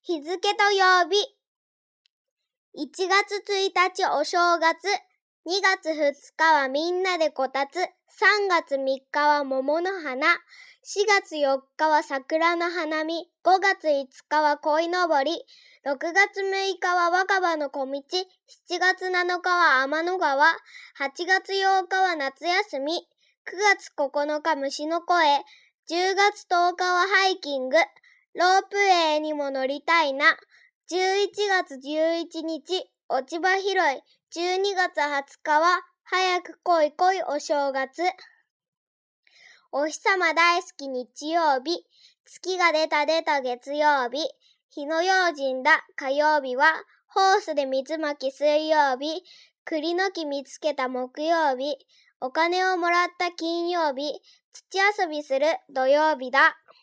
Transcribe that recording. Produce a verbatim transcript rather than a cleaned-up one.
日付と曜日。いちがつついたちお正月、にがつふつかはみんなでこたつ、さんがつみっかは桃の花、しがつよっかは桜の花見、ごがついつかは鯉のぼり、ろくがつむいかは若葉の小道、しちがつなのかは天の川、はちがつようかは夏休み、くがつここのか虫の声、じゅうがつとおかはハイキング、ロープウェイにも乗りたいな、じゅういちがつじゅういちにち、落ち葉拾い、じゅうにがつはつかは早く来い来いお正月。お日様大好き日曜日、月が出た出た月曜日、火の用心だ火曜日は、ホースで水まき水曜日、栗の木見つけた木曜日、お金をもらった金曜日、土遊びする土曜日だ。